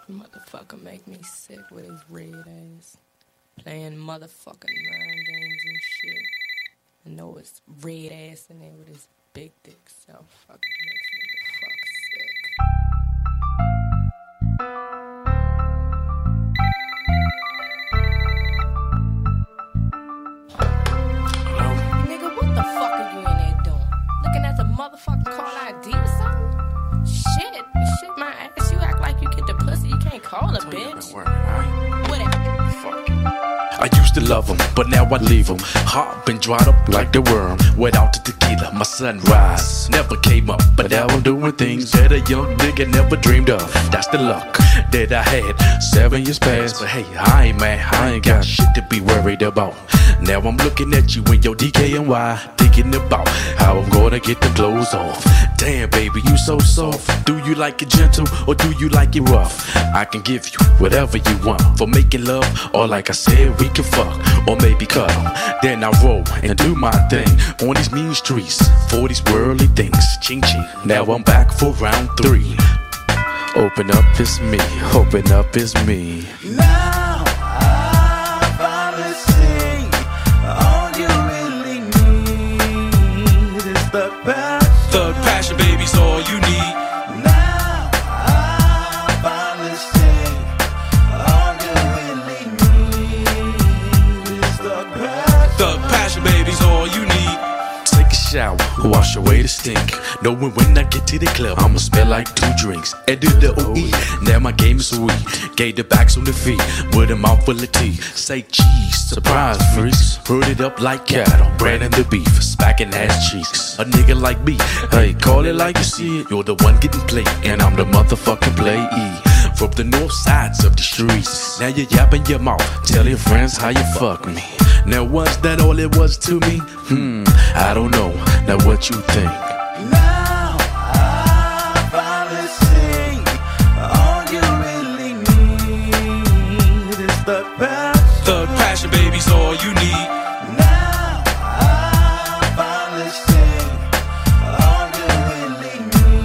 Motherfucker make me sick with his red ass. Playing motherfucking mind games and shit. I know it's red ass in there with his big dick, so fucking makes me the fuck sick. Nigga, what the fuck are you in there doing? Looking at the motherfucking call ID or something? Shit, my ass, you act like you get the pussy, you can't call a bitch. Whatever. I used to love them, but now I leave them. Heart been dried up like the worm. Without the tequila, my sunrise never came up. But now I'm doing things that a young nigga never dreamed of. That's the luck that I had 7 years past. But hey, I ain't mad, I ain't got shit to be worried about. Now I'm looking at you in your DKNY, thinking about how I'm gonna get the clothes off. Damn, baby, you so soft. Do you like it gentle or do you like it rough? I can give you whatever you want for making love, or like I said, we can fuck, or maybe cuddle. Then I roll and do my thing on these mean streets for these worldly things. Ching ching. Now I'm back for round 3. Open up, it's me. Open up, it's me. Now I finally see all you really need is the passion. Thug passion, baby's all you need. Now I finally see all you really need is the passion. Thug passion, baby's all you need. Take a shower, wash away the stink. Knowing when I get to the club, I'ma smell like 2 drinks. And do the OE, now my game is sweet. Gave the backs on the feet, with a mouth full of tea. Say cheese, surprise freaks. Herd it up like cattle, branding the beef, smacking ass cheeks. A nigga like me, hey, call it like you see it. You're the one getting played, and I'm the motherfucking playee. From the north sides of the streets, now you're yapping your mouth, tell your friends how you fuck me. Now was that all it was to me? I don't know, now what you think? Now I finally see all you really need is the passion. Thug passion, baby's all you need. Now I finally see all you really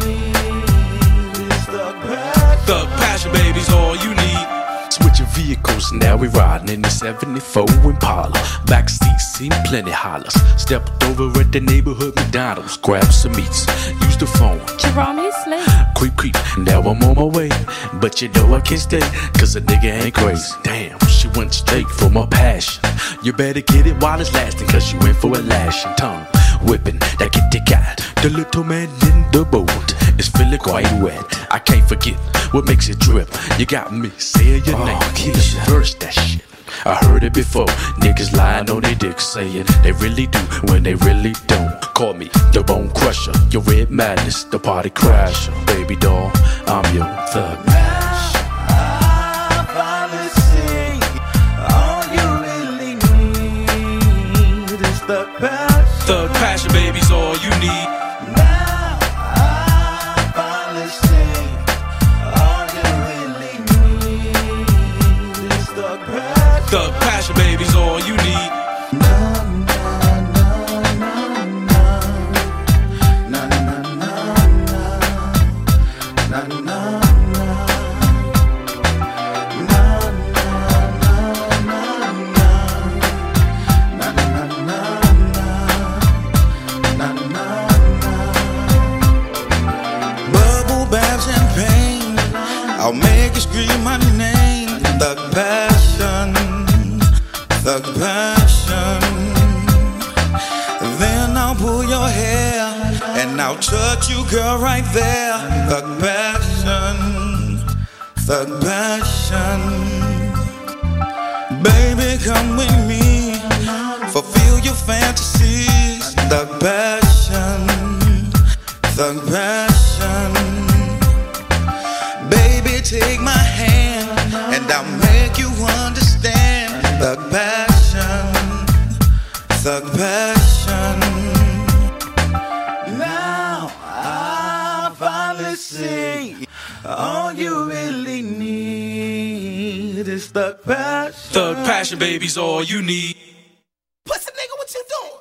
need is the passion. Thug passion, baby's all you need. Switching vehicles, now we riding in the 74 Impala. Backseat seen plenty hollers. Stepped over at the neighborhood McDonald's, grabbed some meats, used the phone. Jerome, he's asleep. Creep, creep, now I'm on my way. But you know I can't stay, cause a nigga ain't crazy. Damn, she went straight for my passion. You better get it while it's lasting, cause you in for a lashing. Tongue whipping, that kitty cat. The little man in the boat is feeling quite wet. I can't forget what makes it drip. You got me saying your name, Keisha. First that shit, I heard it before. Niggas lying on their dicks, saying they really do when they really don't. Call me the bone crusher, your red madness, the party crasher. Baby doll, I'm your thug. I finally see all you really need is the passion. Thug passion, baby's all you need. Now I finally see all you really need is the passion. Thug passion, baby's all you need. Bubble bath champagne, I'll make you scream my name. Thug passion, thug passion. Then I'll pull your hair and I'll touch you, girl, right there. Thug passion, thug passion. Baby, come with me, fulfill your fantasies. Thug passion, thug passion. Baby, take my hand and I'll make you understand. Thug passion, thug passion. Now I finally see all you really need is thug passion. Thug passion, baby's all you need. Pussy nigga, what you doing?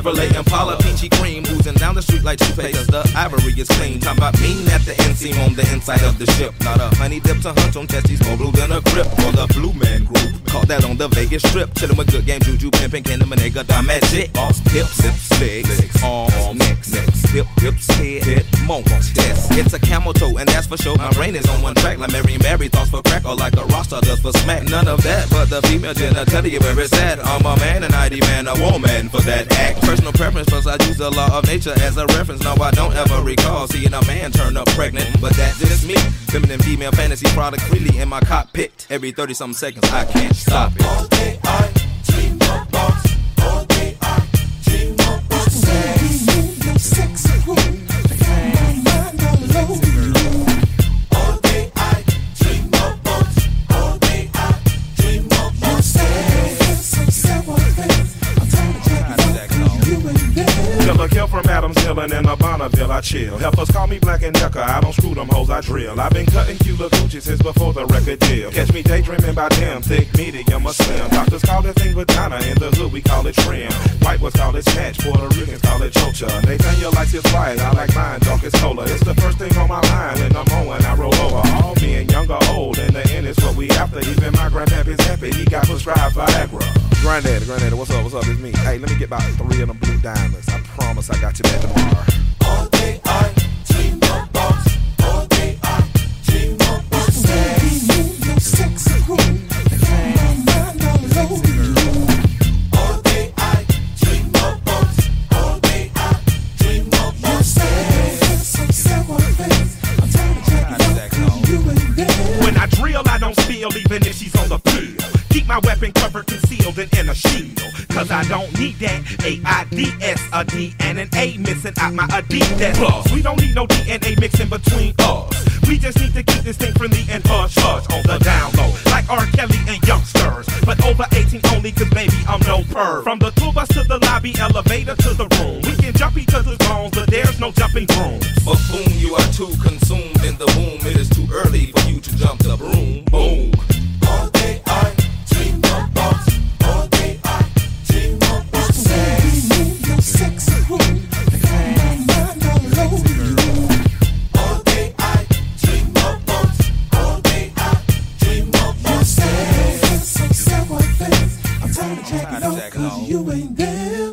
Chevrolet Impala, peachy cream, oozing down the street like toothpaste. Cause the ivory is clean. Talking about mean at the inseam on the inside of the ship. Not a honey dip to hunch on testes, more blue than a grip. For the Blue Man Group, caught that on the Vegas Strip. Chillin' with good game, juju, pimpin', Kenny Manega, the magic. Boss, hips, legs, arms, necks, hips, head, monks, test. It's a camel toe, and that's for sure. My brain is on one track, like Mary and Mary thoughts for crack, or like a roster does for smack. None of that, but the female genitalia where it's at. I'm a man and I demand a woman for that act. Personal preference, plus I use the law of nature as a reference. No, I don't ever recall seeing a man turn up pregnant, but that's just me. Feminine female fantasy product freely in my cockpit. Every 30-something seconds, I can't stop it. All day I dream about. All day I dream about sex. No sex at home. I got my mind all over you. All day I dream about. All day I dream about sex. Some several things. I'm tired of checking out you and them. Killer kill from Adams Hill and in a Bonneville I chill. Helpers call me Black and Decker, I don't screw them hoes, I drill. I've been cutting Cuba Gucci since before the record deal. Catch me daydreaming about them, thick, medium, or slim. Doctors call that thing vagina, in the hood we call it trim. White ones call it snatch, Puerto Ricans call it chocha. Nathaniel likes his right, I like mine, dark as cola. It's the first thing on my mind in the moment I roll over. All men, young or old, in the end it's what we after. Even my grandpappy's happy, he got prescribed Viagra. Granddaddy, what's up, it's me. Hey, let me get about 3 of them blue diamonds. I promise I got you back tomorrow. All day I dream about. All day I dream about sex. No sex at home. I got my mind all over you. All day I dream about. All day I dream about sex. Some several things. I'm tired of checking out you and them. When I drill, I don't spill, even if she's on the field. Keep my weapon covered, concealed, and in a shield. Cause I don't need that AIDS, a D and an A missing out my Adidas. Plus, we don't need no DNA mixing between us. We just need to keep this thing friendly and hush-hush on the down low. Like R. Kelly and youngsters. But over 18 only, cause baby, I'm no perv. From the tour bus to the lobby, elevator to the room. We can jump each other's bones, but there's no jumping brooms. Buffoon, you are too consumed in the womb. It is too early for you to jump the broom. Boom. All day I dream about. All day I dream about sex. No sex at home. I got my mind all over you. All day I dream about. All day I dream about sex. Some several things. I'm tired of checking out 'cause you ain't there.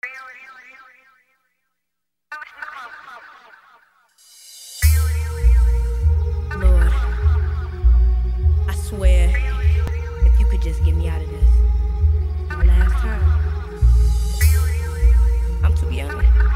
Lord, I swear, if you could just get me out of this. My last time. I'm too young.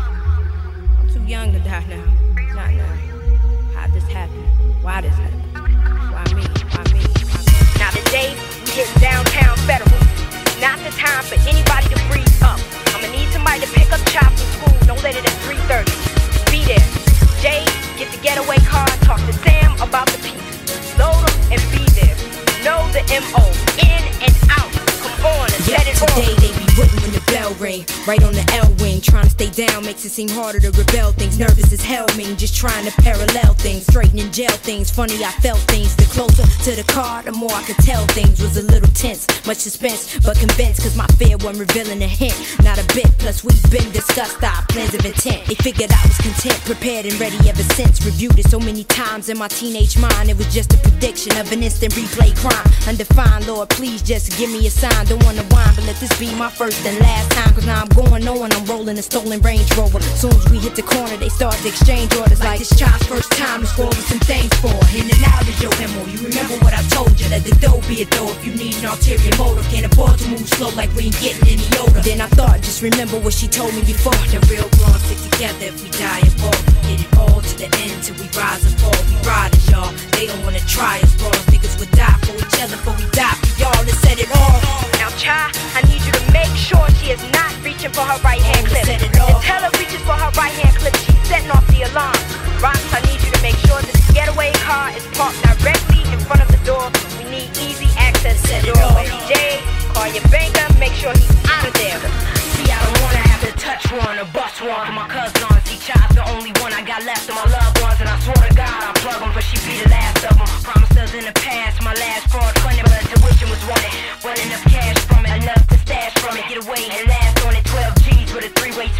I'm too young to die now. Not now. How this happened? Why this happened? Why me? Why me? Why me? Now today, we hit downtown Federal. Not the time for anybody to freeze up. I'ma need somebody to pick up Chop from school. Don't let it at 3:30. Be there. Jay, get the getaway car. Talk to Sam about the piece. Load them and be there. Know the M.O. In and out. Come on and set it on. Today they be waiting when the bell ring. Right on the L wing. Trying to stay down makes it seem harder to rebel things. Nervous as hell mean. Just trying to parallel things. Straightening jail things. Funny I felt things. The closer to the car, the more I could tell things. Was a little tense. Much suspense, but convinced. Cause my fear wasn't revealing a hint. Not a bit. Plus we've been discussed our plans of intent. They figured I was content. Prepared and ready ever since. Reviewed it so many times in my teenage mind. It was just a prediction of an instant replay crime. Undefined, Lord, please just give me a sign. Don't wanna whine, but let this be my first and last time. Cause now I'm going on, I'm rolling a stolen Range Rover. Soon as we hit the corner, they start to exchange orders. Like this child's first time to score with some things for. In and out is your MO, you remember what I told you. Let the dough be a dough if you need an ulterior motive. Can't afford to move slow like we ain't getting any older. Then I thought, just remember what she told me before. The real grown stick together if we die and fall. Get it all to the end till we rise and fall. We riders, y'all, they don't wanna try us. Bros, niggas would die for each other before we die for y'all. Let's set it off. Now, Cha, I need you to make sure she is not reaching for her right hand clip. Set it off. And tell her reaches for her right hand clip. She's setting off the alarm. Rocks, I need you to make sure this getaway car is parked directly in front of the door. We need easy access to the doorway. Jay, call your banker, make sure he's out of there. See, I don't wanna have to touch one or bust one. My cousin on see Child's the only one I got left of my loved ones. And I swear to God, I'll plug them, but she be the last of them. Promised us in the past, my last fraud funded, but tuition was wanted. Wasn't enough cash from it, enough to stash from it. Get away and last on it, 12 G's with a 3-way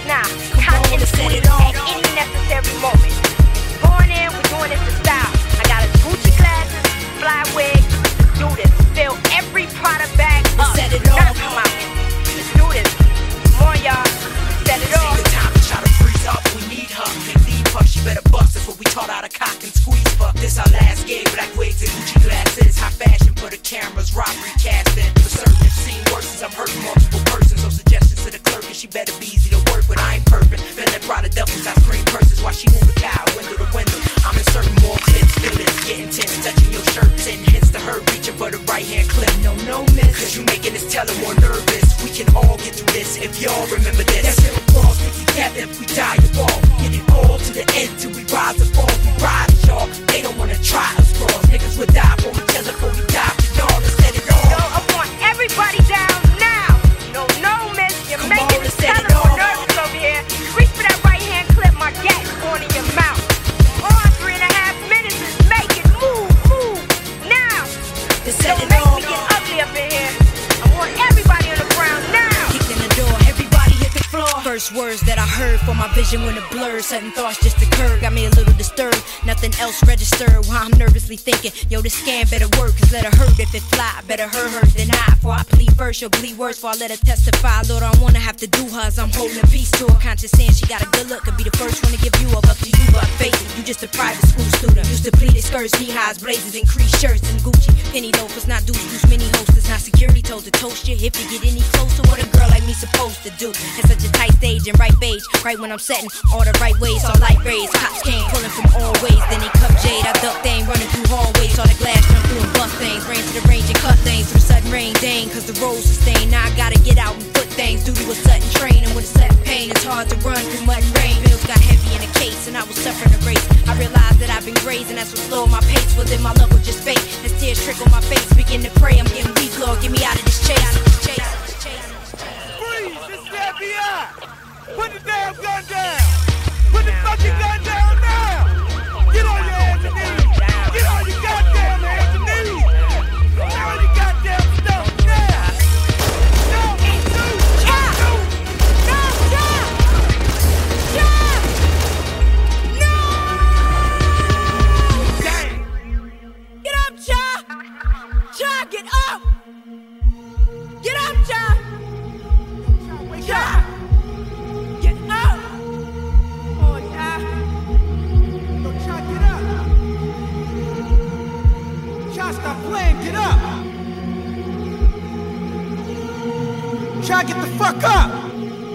Nah, kinda in the city at any necessary moment. Going in, we're doing this in style. I got a Gucci glasses, fly wig. Do this. Fill every product bag up. Set it off. Come out. Let's do this. Come on, y'all. Set it off. See the time to try to freeze up. We need her. Can't leave her. She better bust us. What we taught how to cock and squeeze for. This our last gig. Black wigs and Gucci glasses. High fashion for the cameras. Robbery casting. For certain, if seen worse as I'm hurting multiple persons. So suggestions to the clerk and she better be easy to work with. I ain't perfect. Feeling proud of duffels. I scream curses while she move the cow window to window. I'm inserting more clips. Feel it. Getting tense. Touching your shirt. Sending hints to her. Reaching for the right hand clip. No miss. Cause you making this teller more nervous. We can all get through this if y'all remember this. That's it. All stick together if we die or fall. Get it all to the end till we rise or fall. We ride it, y'all. They don't wanna try us cross. Niggas would die for each other before we die for y'all. Let's set it all. Yo, I want everybody down now. No miss. You're making this teller more nervous over here. Reach for that right hand clip. My gat is going in your mouth. On 3.5 minutes is make it move now. Don't make me get ugly up in here. I want everybody on the ground now. Kick in the door, everybody hit the floor. First words that I heard for my vision when it blurred. Sudden thoughts just occurred, got me a little disturbed. Nothing else registered while I'm nervously thinking, yo, this scam better work, cause let her hurt if it fly. Better hurt her than I, for I plead first, she'll bleed worse, for I let her testify. Lord, I don't wanna have to do her as I'm holding a piece to her. Conscious saying she got a good look, could be the first one to give you up to you, but face it, you just a private school student. Used to pleated skirts, knee-highs, blazers, and creased shirts, and Gucci penny loafers, not deuce, mini hostess, not security told to toast you. If you get any closer, what a girl like me supposed to do? In such a tight stage and right page, right when I'm setting all the right ways, all light rays. Cops came pulling from all ways, then they cup jade. I ducked thing running through hallways, saw the glass jump through and bust things. Ran to the range and cut things from sudden rain, dang, cause the roads sustained. Now I gotta get out and foot things due to a sudden train, and with a sudden pain, it's hard to run through mud and rain. Bills got heavy in the case, and I was suffering a race. I realized that I've been grazing, that's what slowed my pace. Well, then my love was just fake. As tears trickle my face, begin to pray. I'm getting weak, Lord, get me out of this chase. Freeze! This is the FBI! Put the damn gun down! Put the fucking gun down now! Get on your hands and knees! Get on your goddamn hands and knees! Get on your goddamn stuff now! Get up, Cha! Cha, get up! Get up, Cha! Cha! Get up! Oh, Cha! Yo, Cha, get up! Cha, stop playing, get up! Cha, get the fuck up!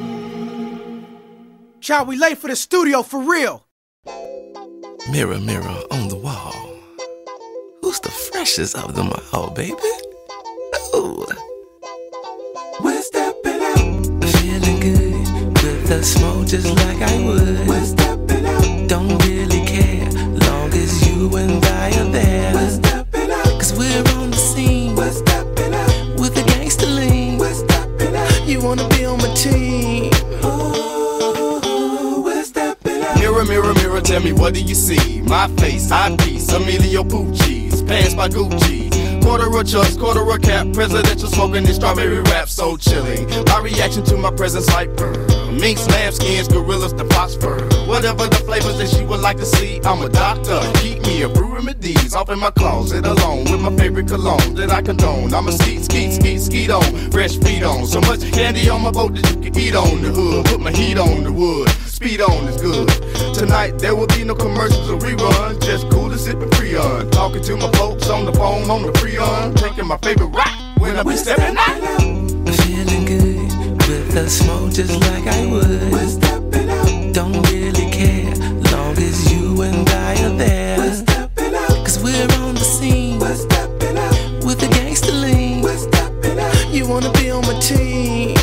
Cha, we late for the studio, for real! Mirror, mirror on the wall, who's the freshest of them all, baby? Ooh. We're stepping out. Feeling good with the smoke just like I would. We're stepping out. Don't really care, long as you and I are there. We're stepping out. Cause we're on the scene. We're stepping out. With the gangster lean. We're stepping out. You wanna be on my team. Oh, we're stepping out. Mirror, mirror, mirror, tell me what do you see? My face, eye piece, Emilio Pucci's, pants by Gucci. Quarter a chucks, quarter a cap, presidential smoking this strawberry rap so chilling. My reaction to my presence like minks, lambskins, gorillas, the phosphor. Whatever the flavors that she would like to see, I'm a doctor. Keep me a brew remedies off in my closet alone with my favorite cologne that I condone. I'm a skeet on, fresh feet on. So much candy on my boat that you can eat on the hood. Put my heat on the wood, speed on is good. Tonight there will be no commercials or rerun, just cool to sipping Freon. Talking to my folks on the phone on the Freon, taking my favorite rock when I be stepping out. Feeling good with the smoke just like I would. We're stepping out. Don't really care, long as you and I are there. We're stepping out. Cause we're on the scene. We're stepping out. With the gangster lean. We're stepping out. You wanna be on my team.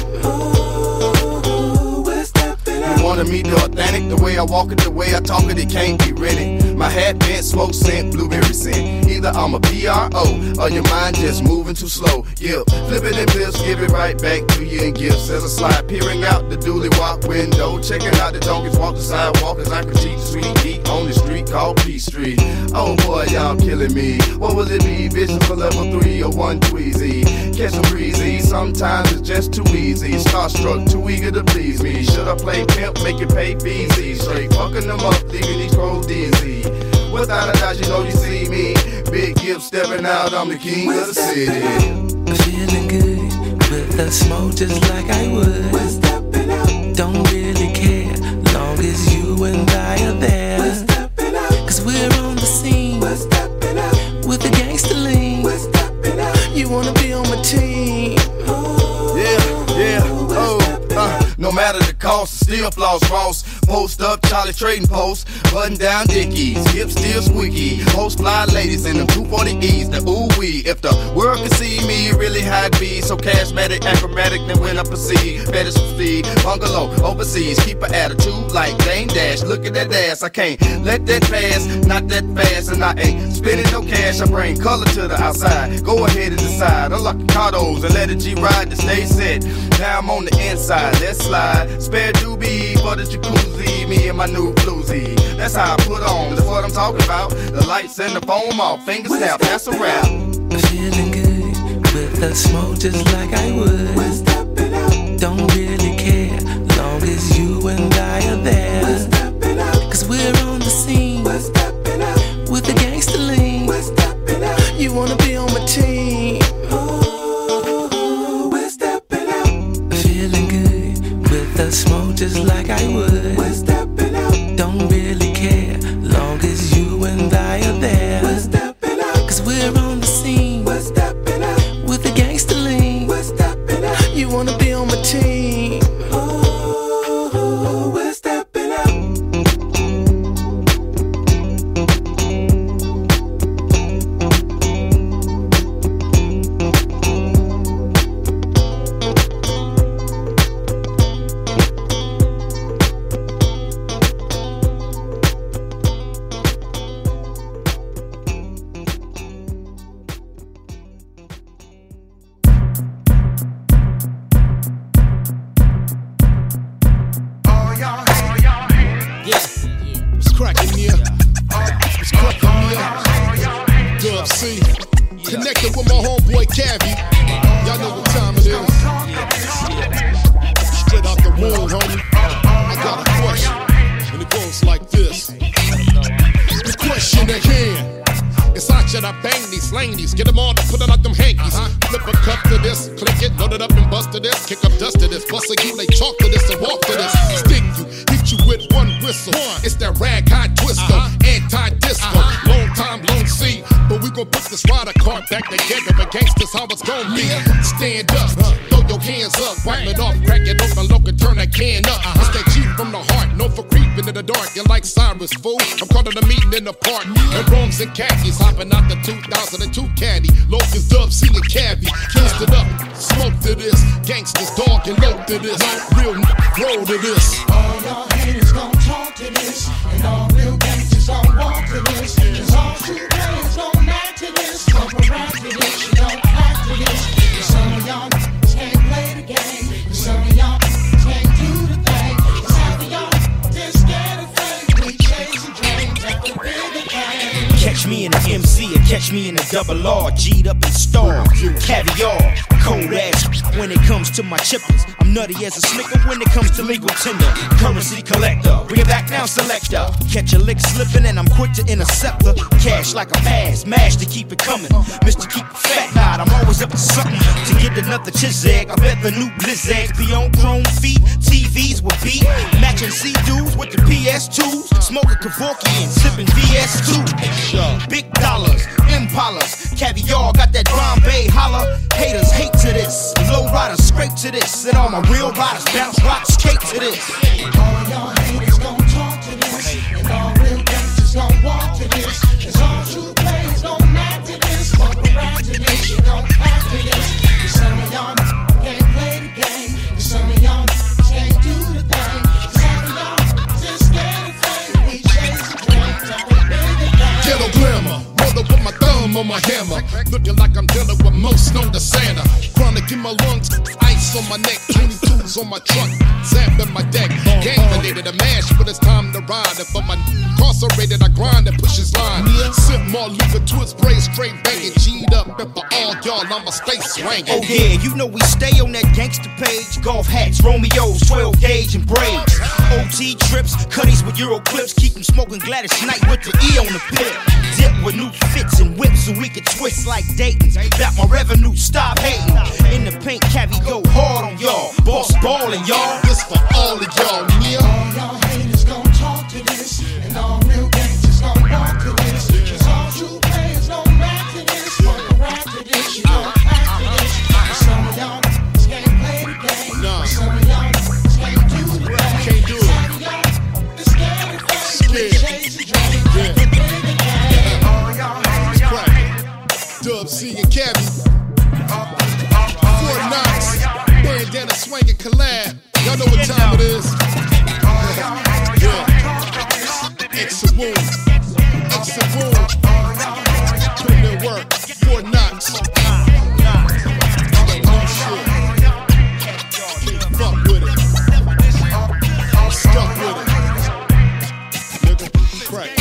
Oh, we're stepping out. You wanna meet the authentic, the way I walk it, the way I talk it, it can't be rented. My hat bent, smoke scent, blueberry scent. Either I'm a PRO or your mind just moving too slow. Yeah, flip it in flips, give it right back to you in gifts. As I slide, peering out the dually walk window, checking out the donkeys walk the sidewalk as I critique the sweet heat on the street called P Street. Oh boy, y'all killing me. What will it be? Vision for level 3 or 1 Tweezy. catch a breezy. Sometimes it's just too easy. Starstruck, too eager to please me. Should I play pimp, make it pay fees? Straight fucking them up, leaving these crows dizzy. Without a doubt, you know you see me. Big Gibb stepping out, I'm the king of the city. Feeling good with the smoke just like I would. We're stepping out. Don't really care, long as you and I are there. We're stepping out. Cause we're on the scene. We're stepping out. With the gangster lean. We're stepping out. You wanna be on my team. No matter the cost, still floss Ross. Post up, Charlie trading post. Button down Dickies, hips still squeaky. Host fly ladies in them 240Es, the ooh-wee. If the world could see me, really how it be. So charismatic, acrobatic, then when I proceed. Better speed, bungalow, overseas. Keep an attitude like Dame Dash. Look at that ass, I can't let that pass. Not that fast, and I ain't spending no cash. I bring color to the outside. Go ahead and decide. Unlock the cardos and let it G-ride to stay set. Now I'm on the inside, let's slide. Spare doobie for the jacuzzi. Me and my new bluesy. That's how I put on, that's what I'm talking about. The lights and the foam off, finger snap, that's a wrap. Feeling good with the smoke just like I would. We're stepping out. Don't really care, long as you and I are there. We're stepping out. Cause we're on the scene. We're stepping out. With the gangster lean. We're stepping out. You wanna be on my team. Oh, we're stepping out. Feeling good with the smoke just like I would. We're stepping out. Don't really care, long as you and I are there. We're stepping out. Cause we're on the scene. We're stepping out. With the gangster lean. We're stepping out. You wanna be on my team. Oh, we're stepping out. What's cracking here? What's cracking here? Dub C. Connected with my homeboy Cavi. Y'all know what time it is. Straight out the womb, homie. I got a question, and it goes like this. The question at hand is how should I bang these ladies? Get them all to put it out them hankies. Flip a cup to this, click it, load it up and bust to this. Kick up dust to this, bust a you, they talk to this and walk to this. Stick you, hit you with one whistle. It's that rag high twister, anti-disco. Long time, long see. But we gon' put this rider cart back together. But gangsters, how it's gon' be. Stand up, throw your hands up, wipe it off, crack it open, look and turn that can up. It's that G from the heart, known for creeping in the dark. You're like Cyrus, fool. I'm calling a meeting in the park. And Rome's and khakis, hopping out the 2002 caddy. Locust Dub, see the cabbie. Kissed it up, smoke to this. Gangsters, dog, and low to this. Real roll to this. All y'all haters gon' talk to this, and all real gangsters gon' walk to this. Cause all true players gon' act to this, don't around to this, you don't act to this. Cause some of y'all can't play the game, cause some of y'all can't do the thing. Cause half of y'all just scared of fame. We chasing dreams at the bigger game. Catch me in the MC or catch me in the double R, G'd up and star, caviar, cold ass. When it comes to my chippers, I'm nutty as a snicker. When it comes to legal tender, currency collector, bring it back now, selector. Catch a lick slipping and I'm quick to intercept her. Cash like a pass, mash to keep it coming. Mr. Keep it fat, nah, I'm always up to something. To get another chizag, I bet the new Blizzags be on chrome feet. TVs will be matching C-dudes with the PS2s, smoking Kevorkian, sipping VS2. Big dollars, Impalas, caviar, got that Bombay holler. Haters hate to this, low riders scrape to this, and all my real riders bounce rock skate to this. All y'all haters gon' talk to this, and all real gangsters gon' walk to this. Cause all true players gon' act to this, walk around to this, you don't act to this. Cause some of y'all can't play the game, cause some of y'all can't do the thing. Cause half of y'all just scared of fame. We chasing dreams at the bigger game. Ghetto glamour, rolled up with my thumb on my hammer. Looking like I'm dealing with most known to Santa. Chronic in my lungs, ice on my neck, 22 Bugs on my truck, zapping my deck. Gang related, a mash, but it's time to ride. And for my incarcerated, I grind and push his line. Sip more liquor to his spray, straight banging. G'd up, and for all y'all, I'ma stay swangin'. Oh yeah, you know we stay on that gangster page. Golf hats, Romeos, 12 gauge and braids. OT trips, cutties with Euro clips. Keep them smoking Gladys Knight with the E on the pit. Dip with new fits and whips so we can twist like Dayton's. Back my revenue, stop hating. In the paint, Cavi go hard on y'all. Boss ballin', y'all. This for all of y'all, yeah. All y'all haters gon' talk to this, and all real gangsters gon' walk to this. Cause all true players gon' rap to this, gon' rap to this, you gon' rap to this. And some of y'all just can't play the game. Nah. Some of y'all just can't do the game. Can't do it. Some of y'all just scared of fame. Chase the dream. Yeah. All y'all haters Dub C and Cabby. Fort Knox. Bandana swinging collab. Y'all know what time it is. Yeah. Exit wound. Exit wound. Put in work. Fort Knox. That new shit. Can't fuck with it. I'm stuck with it. Nigga, crack.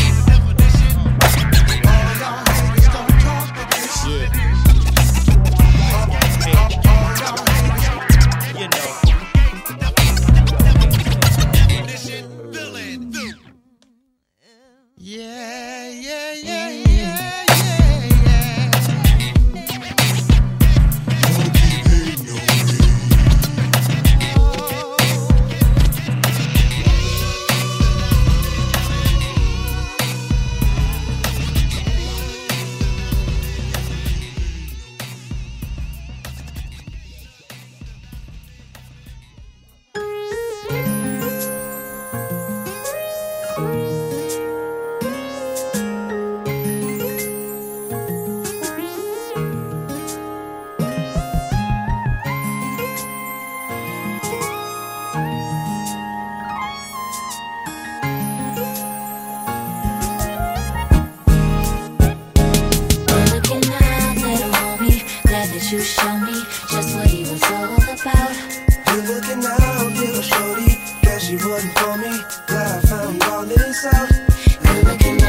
You show me just what he was all about. You're looking out, little shorty. Guess you wasn't for me. Glad I found all this out. You're looking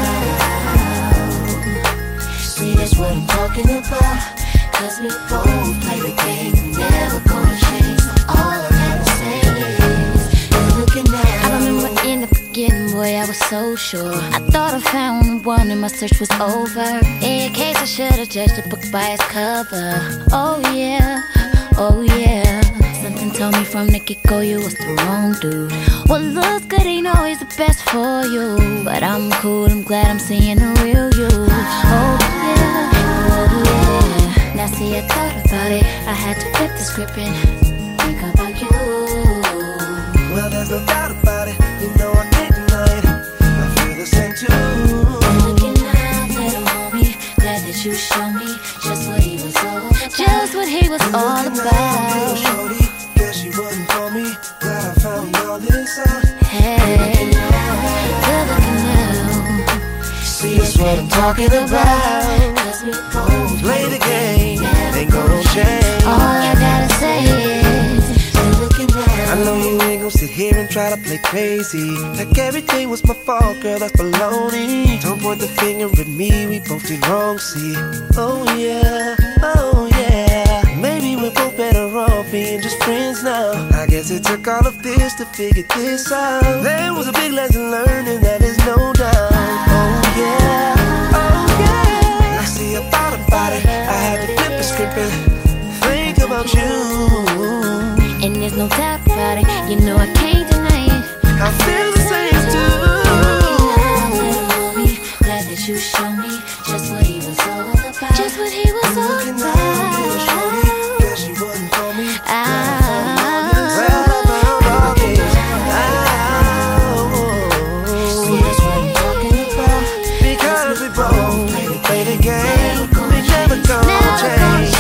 out. See, that's what I'm talking about. Cause we both play the game, never gonna change. All I gotta say is, you're looking out. I remember in the beginning, boy, I was so sure. I thought I found the one and my search was over. In case I should've judged the book by its cover. Oh yeah, oh yeah. Something told me from the get-go you was the wrong dude. What looks good ain't always the best for you. But I'm cool, I'm glad I'm seeing the real you. Oh yeah, oh yeah. Now see, I thought about it, I had to flip the script and think about you. Well, there's no doubt about it, you know I can't deny it. I feel the same too. I'm looking out, little homie. Glad that you showed me just what he was all about. Just what he was all about. Little shorty, guess you wasn't for me. Glad I found all this out. Hey, good looking now. See, that's what I'm talking about. Cause we both play the game, ain't gonna change. All I gotta say is, you're looking now. I know you ain't gon' sit here and try to play crazy, like everything was my fault, girl, that's baloney. Don't point the finger at me, we both did wrong, see. Oh yeah, oh yeah. Maybe we're both better off being just friends now. I guess it took all of this to figure this out. There was a big lesson learned and that is no doubt. Oh yeah, oh yeah. I see I thought about it, I had to flip the script and think about you. And there's no doubt about it, you know I can't deny it. I feel the same too. Glad that you showed me just what he was all about. Just what he was all about. Guess you wasn't for me. See, that's what I'm talking about. Because we both play the game, we never gonna change.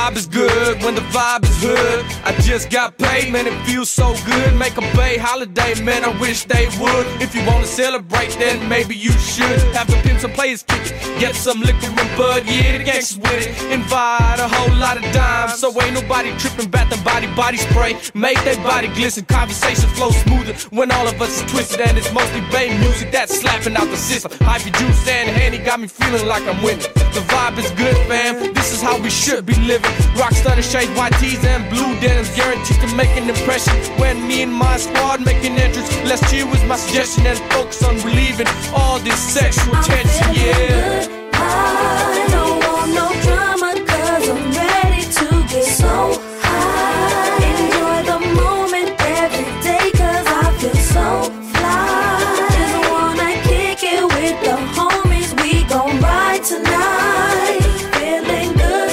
vibe is good when the vibe is hood. I just got paid, man, it feels so good. Make a Bay holiday, man, I wish they would. If you wanna celebrate, then maybe you should. Have the pimps and players kick it, get some liquor and bud, yeah, the gangsters with it. Invite a whole lot of dimes, so ain't nobody tripping, bath and body spray. Make their body glisten, conversation flow smoother when all of us is twisted. And it's mostly Bay music that's slapping out the system. Hypey juice and Henny got me feeling like I'm winning. The vibe is good, fam, this is how we should be living. Rockstar shades, white tees and blue denims, guaranteed to make an impression. When me and my squad make an entrance, let's chill was my suggestion and focus on relieving all this sexual tension, yeah. I don't want no drama, cause I'm ready to get so high. Enjoy the moment every day, cause I feel so fly. Just wanna kick it with the homies, we gon' ride tonight. Feeling good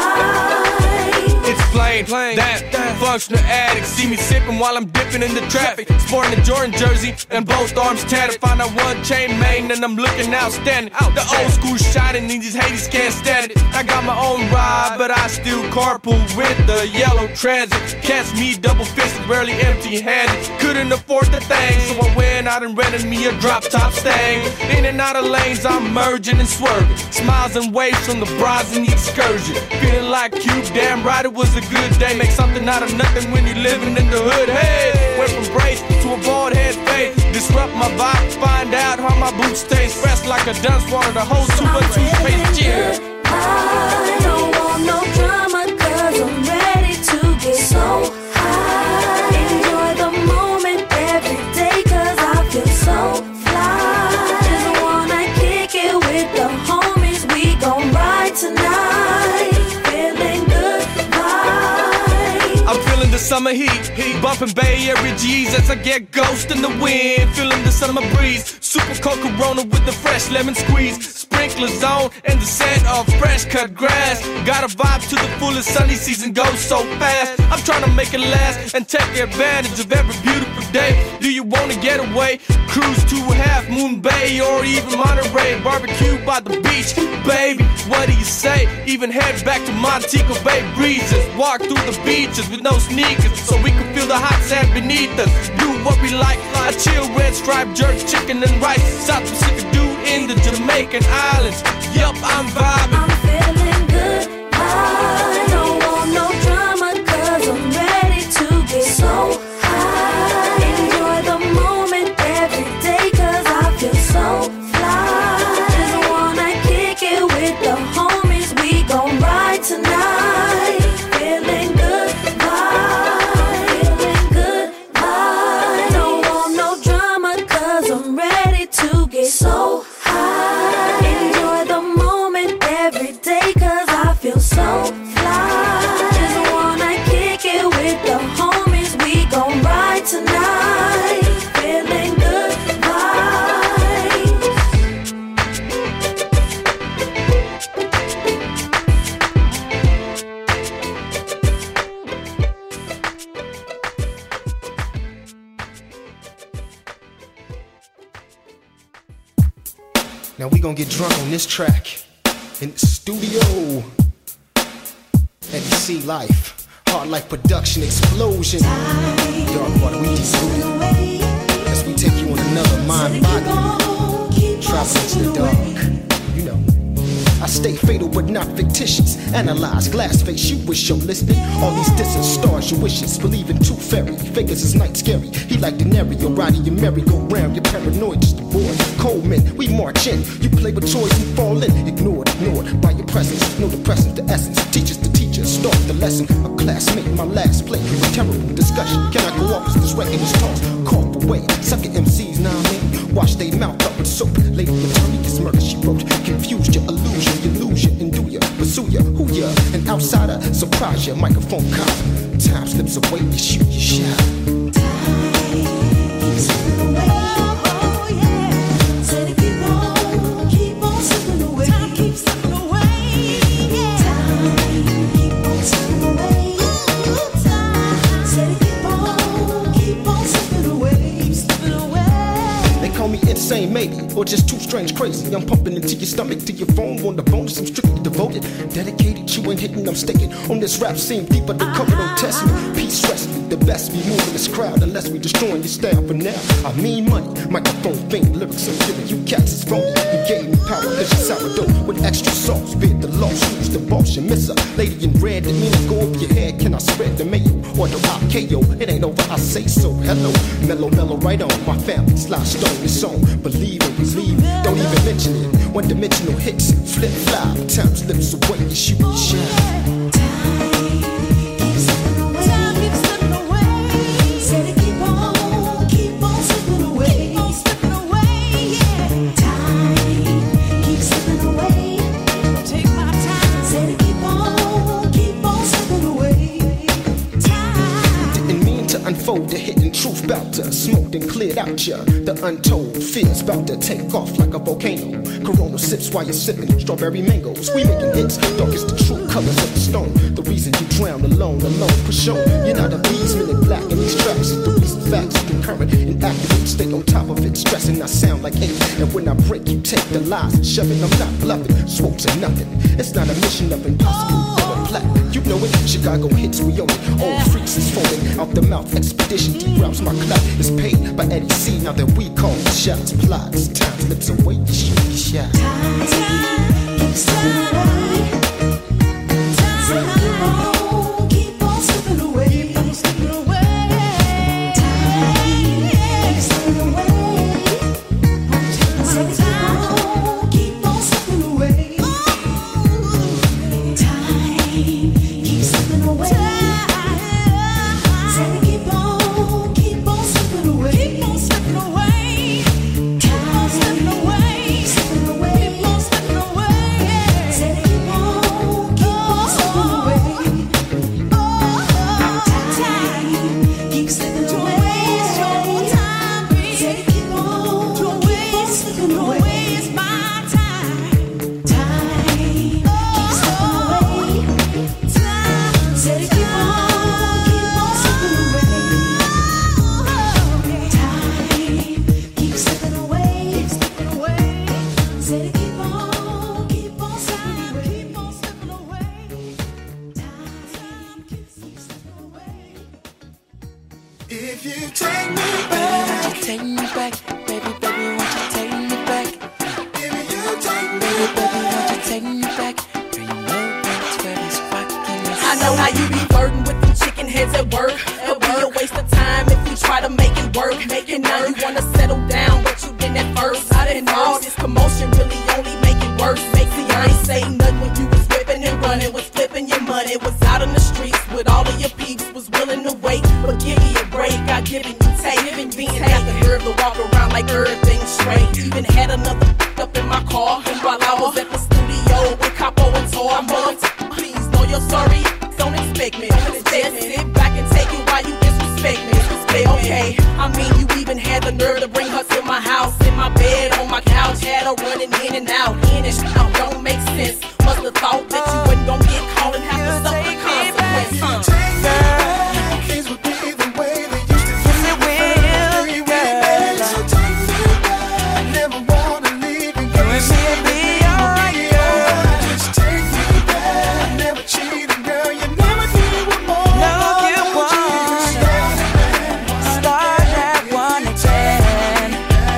vibe. It's plain that functional addict. See me sipping while I'm dipping in the traffic. Sporting a Jordan jersey and both arms tatted. Find out one chain main and I'm looking outstanding. The old school shining, these haters can't stand it. I got my own ride, but I still carpool with the yellow transit. Catch me double fisted, rarely empty handed. Couldn't afford the thing, so I went out and rented me a drop top Stang. In and out of lanes, I'm merging and swerving. Smiles and waves from the bras in the excursion. Feeling like Cube, damn right it was a good day. Make something out of nothing when you're living in the hood. Hey, went from braids to a bald head fade. Disrupt my vibe, find out how my boots taste. Fresh like a dunce water, the whole tube of toothpaste. Yeah. I don't want no drama, cause I'm ready to get so high. Enjoy the moment every day, cause I feel so fly. Just wanna kick it with the homies, we gon' ride tonight. Feeling good vibe. I'm feeling the summer heat, bumping Bay Area G's as I get ghost in the wind. Feeling the summer breeze, super cold Corona with the fresh lemon squeeze. Sprinkler zone and the scent of fresh cut grass. Got a vibe to the fullest, sunny season goes so fast. I'm trying to make it last and take advantage of every beautiful day. Do you wanna get away? Cruise to Half Moon Bay or even Monterey. Barbecue by the beach, baby, what do you say? Even head back to Montego Bay breezes. Walk through the beaches with no sneakers so we can feel the hot sand beneath us. Do what we like, a chill red striped jerk chicken and rice. South Pacific dude in the Jamaican islands. Yup, I'm vibing. I'm feeling good. I don't want no drama, cause I'm ready to get so high. Enjoy the moment every day, cause I feel so fly. Just wanna kick it with the homies, we gon' ride tonight. Feeling good vibe. Feeling good vibe. Don't want no drama, cause I'm ready to get so high. Enjoy the moment every day, cause I feel so fly. Just wanna kick it with the homies, we gon' ride tonight. Feeling good vibes. Now we gon' get drunk on this track in the studio. Eddie C Life, Hard Life Production Explosion. Dark Water, we distribute as we take you on another mind body travel into the dark. You know, I stay fatal but not fictitious. Analyze glass face, you wish you're listening. All these distant stars, your wishes. Believe in tooth fairy, figures is night scary. He like Denario, riding your merry-go-round. You're paranoid, just a boy. Cold men, we march in. You play with toys and fall in. Ignored by your presence. No depressant, the essence. Teachers the teacher, start the lesson. A classmate, my last play. Terrible discussion. Can I go off as this record is tossed? Call away. Sucker MCs, now I mean. Wash they mouth up with soap. Lady attorney is murder, she wrote. Confused your illusion, you lose you, and do ya. Pursue ya, who ya? An outsider, surprise ya. Microphone cop. Time slips away, you shoot your shot. Time slipping away. Oh yeah. Said if you won't, keep on slipping away. Time keeps slipping away. Yeah. Time keep on slipping away. Time said if you won't, keep on slipping away. Keep slipping away. They call me insane, maybe. or just too strange crazy? I'm pumping into your stomach, to your phone, on the bonus, I'm strictly devoted. Dedicated, you ain't hitting, I'm staking. On this rap scene, deeper than cover, don't test me. Peace, rest me, the best be moving this crowd, unless we destroying your style for now. I mean money, microphone, faint lyrics, I'm giving you cats is phony. You gave me power, cause you sourdough with extra sauce. Bid the loss, who's the boss, you miss a lady in red, that mean I go over your head. Can I spread the mayo, or do I KO? It ain't over, I say so. Hello, mellow, right on. My family's lost stone, this song. Believe and believe, don't even mention it. One-dimensional hits, flip, fly. Time slips away, you shoot your shit. Unfold the hidden truth bout to smoked and cleared out ya. The untold fears bout to take off like a volcano. Corona sips while you're sipping strawberry mangoes. We making hits, dark as the true colors of the stone. The reason you drown alone for sure. You're not a beadsman in black, and these tracks is the reason facts is concurrent and accurate. Stay on top of it, stressing I sound like hate. And when I break, you take the lies and shove it. I'm not bluffing, swopes are nothing. It's not a mission of impossible. You know it, Chicago hits, we own it. Old freaks is foaming out the mouth. Expedition deep routes, my clout is paid by Eddie C. Now that we call the shots, plots. Time slips away, you shoot your shot. Time keeps slipping away. Time keep on slipping away. Keep on slipping away. Time keeps slipping away. Time keep on slipping away. If you take me back, won't you take me back, baby, won't you take me back? If you take me back, won't you take me back? Girl, you know that's where this fucking is. I know how you be flirting with them chicken heads at work. It'll be a waste of time if you try to make it work. And now you wanna settle down, but you didn't at first. I didn't all this commotion really only make it worse. See, I ain't say nothing when you was whipping and running, was flipping your money, was out on the streets with all of your peeps, was willing to wait. But give me a break, I given you take. Being had the nerve to walk around like everything's straight. Even had another up in my car while I was at the studio with Capo and Tor. I'm on please know you're sorry. Don't expect me. Just sit back and take it while you disrespect me. Okay, I mean you even had the nerve to bring her to my house, in my bed, on my couch, had her running in and out. In and out, don't make sense. Must have thought that you wasn't gonna get caught and have to suffer the consequences. Things would be the way they used to be. Yes, it will, girl. So take me back. I never wanna leave and go. You and me be alright. Just take me back. I never cheated, girl. You never did what more. No, you won't. Start that one again.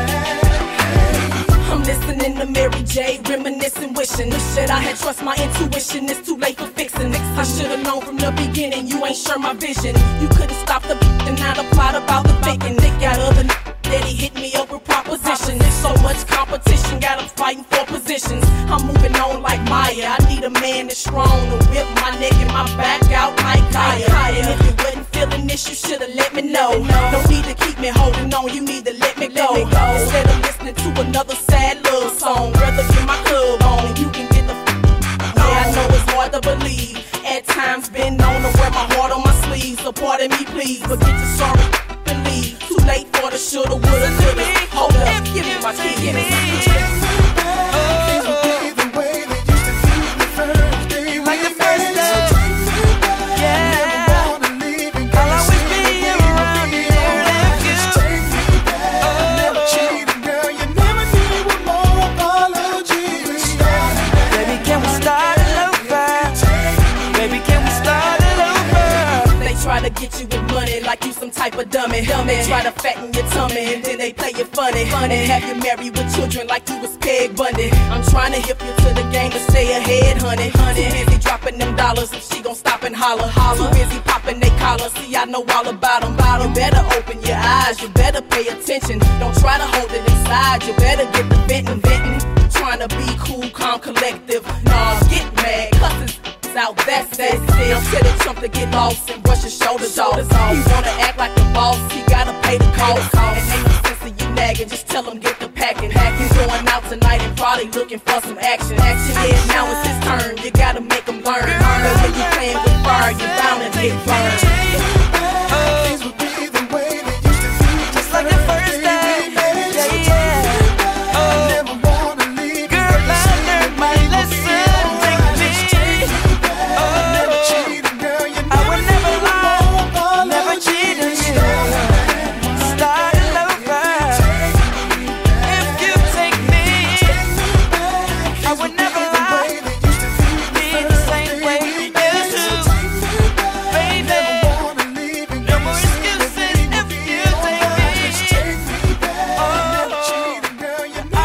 I'm listening to Mary J, reminiscing, wishing this shit I had trust my intuition. It's too late for fixing it. I should've known from the beginning you ain't sure my vision. You couldn't stop the and now the plot about the faking. They got other that he hit me up with proposition. There's so much competition, got them fighting for positions. I'm moving on like Maya. I need a man that's strong to whip my neck and my back out like Kaya. And if you wasn't feeling this, you should've let me know. No need to keep me holding on, you need to let me go. Instead of listening to another sad love song, rather get my club on and you can get the yeah, I know it's hard to believe. At times been known to wear my heart on my sleeve. So pardon me please, but get your sorry and leave. Too late for the shoulda, woulda, coulda. Hold up, give me my keys. Things would be the way they used to be the first day we met. So take me back. Never wanna leave and go. I'll always be around here. Just take me back. I never cheated, girl. You never did what get you with money like you some type of dummy. Try to fatten your tummy and then they play you funny. Have you married with children like you was Peg Bundy. I'm trying to hip you to the game to stay ahead, honey. Too busy dropping them dollars if she gon' stop and holler. Too busy popping they collar, see I know all about them. You better open your eyes, you better pay attention. Don't try to hold it inside, you better get the venting. Trying to be cool, calm, collective. Nah, get mad, cusses out, that's it. Still to the Trump to get lost and brush his shoulders off. He wanna act like the boss, he gotta pay the cost. And ain't no sense of you nagging, just tell him get the packing. He's going out tonight and probably looking for some action. Yeah, now it's his turn, you gotta make him learn. That when you playing with fire, you're bound to get burned. Things would be the way they used to be, just like the first day. Never wanna leave. Girl, I learned my lesson. Never cheated, girl. You I would never lie, never cheat on you. Start all over. If you take me, I would never lie. Be the same way you used to, baby. No more excuses if you take me. Oh, I would never leave you.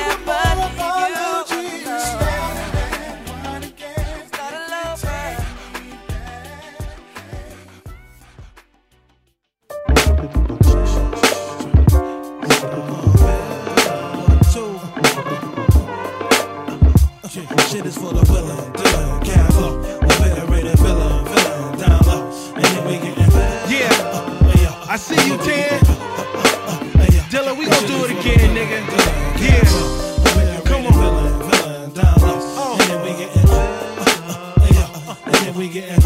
Start all over. Shit is for the villain, Dylan, Cavlo, the better rated villain, down low, and then we getting Yeah, I see you, Tan. Dylan, we gon' do it again, nigga. Yeah, come on. down low, and then we getting and then we getting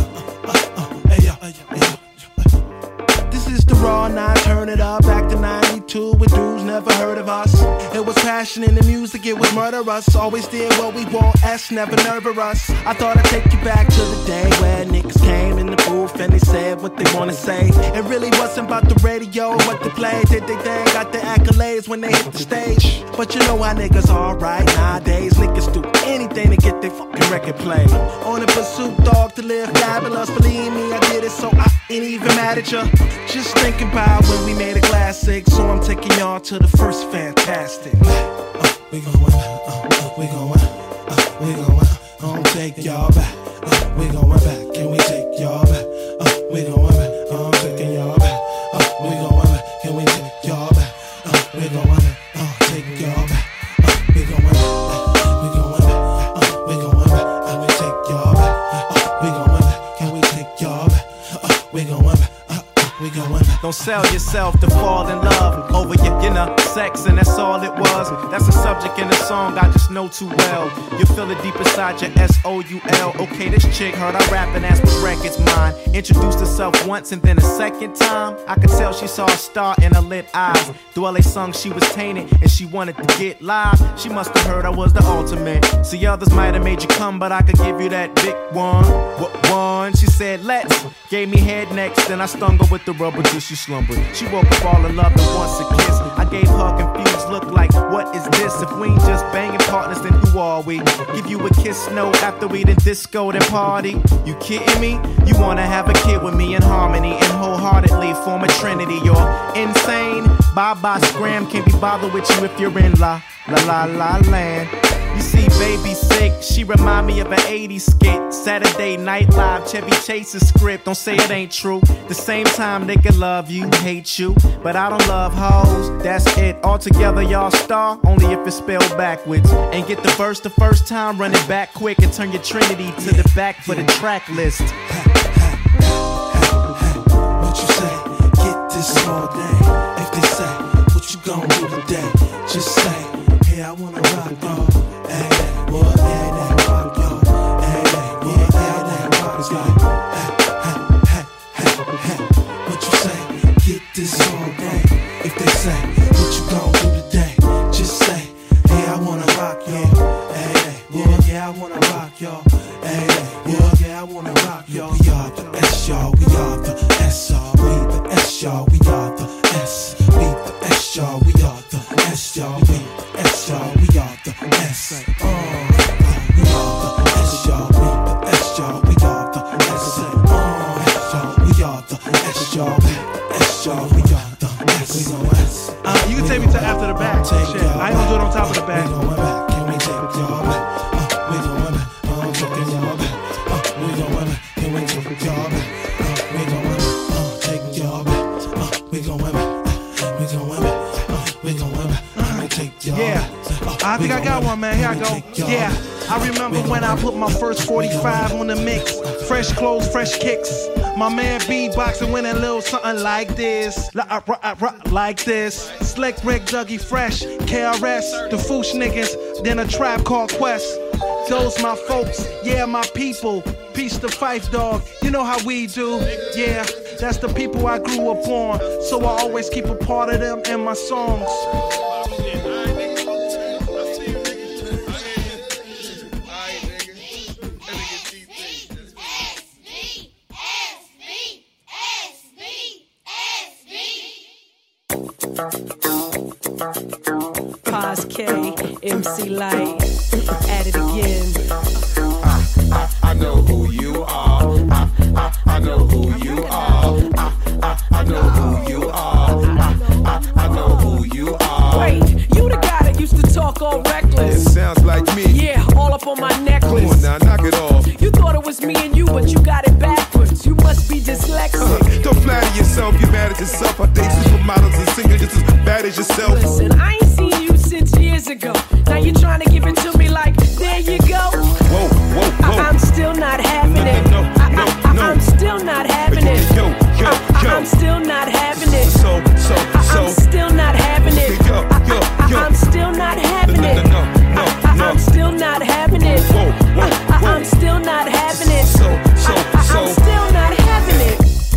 This is the raw 9, turn it up, back to 92 with dudes never heard of us. It was passion in the music, it was murderous. Always did what we want, S never nervous us. I thought I'd take you back to the day where niggas came in the booth and they said what they wanna say. It really wasn't about the radio and what they played. Did they thing, got the accolades when they hit the stage. But you know how niggas are right nowadays. Niggas do anything to get their fucking record played. On the pursuit, dog, to live fabulous. Believe me, I did it so I ain't even mad at ya. Just thinking about when we made a classic, so I'm taking y'all to the first Fantastic. We going, I'll take y'all back. We going back, can we take y'all back? We going back, I'm taking y'all back. We going back, can we take y'all back? We going back, take y'all back. We going back, we going back, we going back, and we take y'all back. We going back, can we take y'all back? We going back. Don't sell yourself to fall in love over your inner sex, and that's all it was. That's a subject in the song I just know too well. You feel it deep inside your S-O-U-L. Okay, this chick heard I rap and asked what record's mine. Introduced herself once and then a second time. I could tell she saw a star in her lit eyes. Through all they sung, she was tainted and she wanted to get live. She must have heard I was the ultimate. See, others might have made you come, but I could give you that big one. What one? She said, let's. Gave me head next, then I stung her with the rubber till she slumbered. She woke up all in love and wants a kiss. I gave her a confused look like, what is this? If we ain't just banging partners, then who are we? Give you a kiss, no, after we done disco, then party. You kidding me? You wanna have a kid with me in harmony and wholeheartedly form a trinity. You're insane. Bye-bye, scram, can't be bothered with you if you're in la land. You see, baby sick, she remind me of an 80s skit. Saturday Night Live, Chevy Chase's script. Don't say it ain't true. The same time they can love you, hate you, but I don't love hoes. That's it. Altogether, y'all star only if it's spelled backwards. And get the verse the first time, run it back quick and turn your Trinity to the back for the track list. What you say? Get this all day. If they say, what you gon' do today? Just say, hey, I wanna rock, y'all. Hey, what? Hey, that rock, y'all. Hey, what? Hey, that rock is like, hey. What you say? Get this all day. If they say, what you gon' do today? Just say, hey, I wanna rock, y'all. Hey, yeah, I wanna rock, y'all. Hey, yeah, I wanna rock, y'all. We are the S, y'all. We are the S, y'all. We the S, y'all. We are the S. We the S, y'all. We are the S, y'all. We the S, y'all. We are the S. We are the S, y'all. We the S, y'all. We are the S. We are the think I got one, man. Here I go. Yeah, I remember when I put my first 45 on the mix. Fresh clothes, fresh kicks. My man beatboxing went a little something like this. Like this. Slick Rick, Dougie Fresh, KRS, the Foosh niggas, then a Tribe Called Quest. Those my folks, yeah, my people. Peace to Fife, dog. You know how we do. Yeah, that's the people I grew up on. So I always keep a part of them in my songs. Paz K, MC Light, at it again. I know who you are. I know who you are. I know who you are. I know who you are. Wait, you the guy that used to talk all reckless? It sounds like me. Yeah, all up on my necklace. Come on now, knock it off. You thought it was me and you, but you got it backwards. You must be dyslexic. Don't flatter yourself, you're mad at yourself. I think supermodels and singers just as bad as yourself. Listen, I ain't seen you since years ago. Now you're trying to give it to me like, there you go. Whoa, whoa, whoa. I'm still not having it. I'm still not having it. I'm still not having it. I'm still not having it. I'm still not having it. I'm still not having it. I'm still not having it. I'm still not having it.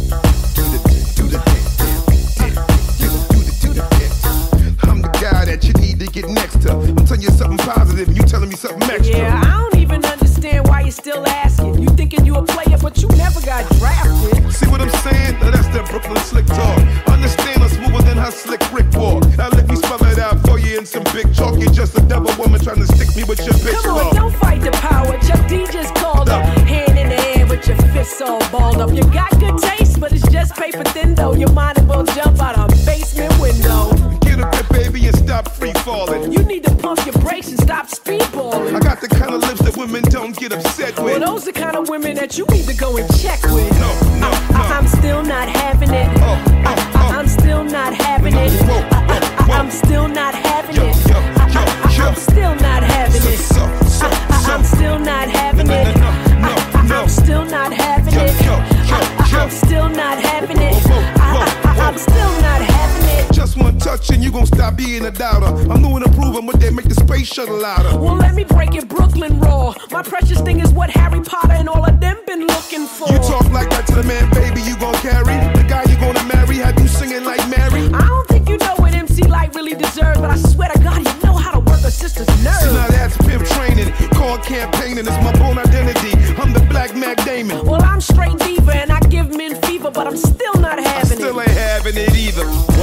I'm the guy that you need to get next to. I'm telling you something positive and you telling me something extra. Yeah, I don't even understand why you're still asking. You thinking you a player, but you never got drafted. See what I'm saying? Now that's that Brooklyn slick talk. Understand I'm smoother than how slick Rick walk. Now let me spell it out for you in some big chalk. You're just a devil woman trying to stick me with your bitch. Come on, don't fight the power. Chuck D just called up. Hand in the air with your fists all balled up. You got good taste, but it's just paper thin though. Your mind will jump out a basement window. Get up there, baby, and stop free falling. You need to pump your brakes and stop speedballing. I got the kind of lips that women don't get upset with. Well, those the kind of women that you need to go and check with. No. I'm still not having it. I'm still not having it. I'm still not having it. I'm still not having it. I'm still not having it. I'm still not having it. I'm still not having it. I'm still not having it. Just one touch and you gon' stop being a doubter. I'm new and improving, but they make the space shuttle louder. Well, let me break it Brooklyn raw. My precious thing is what Harry Potter and all of them been looking for. You talk like that to the man, baby, you gon' carry. The guy you gonna marry, have you singing like Mary? I don't think you know what MC Light really deserves, but I swear to God, you know how to work a sister's nerves. See, now that's pimp training, called campaigning. It's my born identity. I'm the Black Mac Damon. Well, I'm straight diva and I give men fever, but I'm still not having it. I still ain't having it either.